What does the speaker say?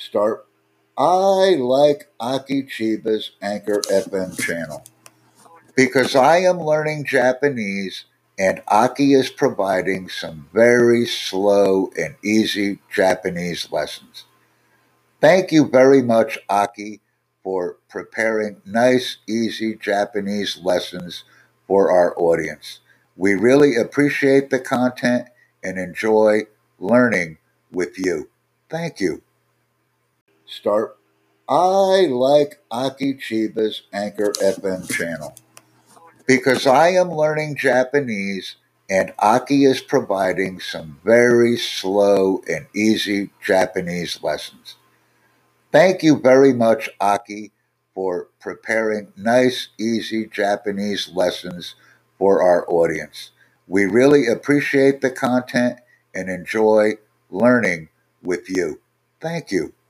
Start. I like Aki Chiba's Anchor FM channel because I am learning Japanese and Aki is providing some very slow and easy Japanese lessons. Thank you very much, Aki, for preparing nice, easy Japanese lessons for our audience. We really appreciate the content and enjoy learning with you. Thank you. Start. I like Aki Chiba's Anchor FM channel because I am learning Japanese and Aki is providing some very slow and easy Japanese lessons. Thank you very much, Aki, for preparing nice, easy Japanese lessons for our audience. We really appreciate the content and enjoy learning with you. Thank you.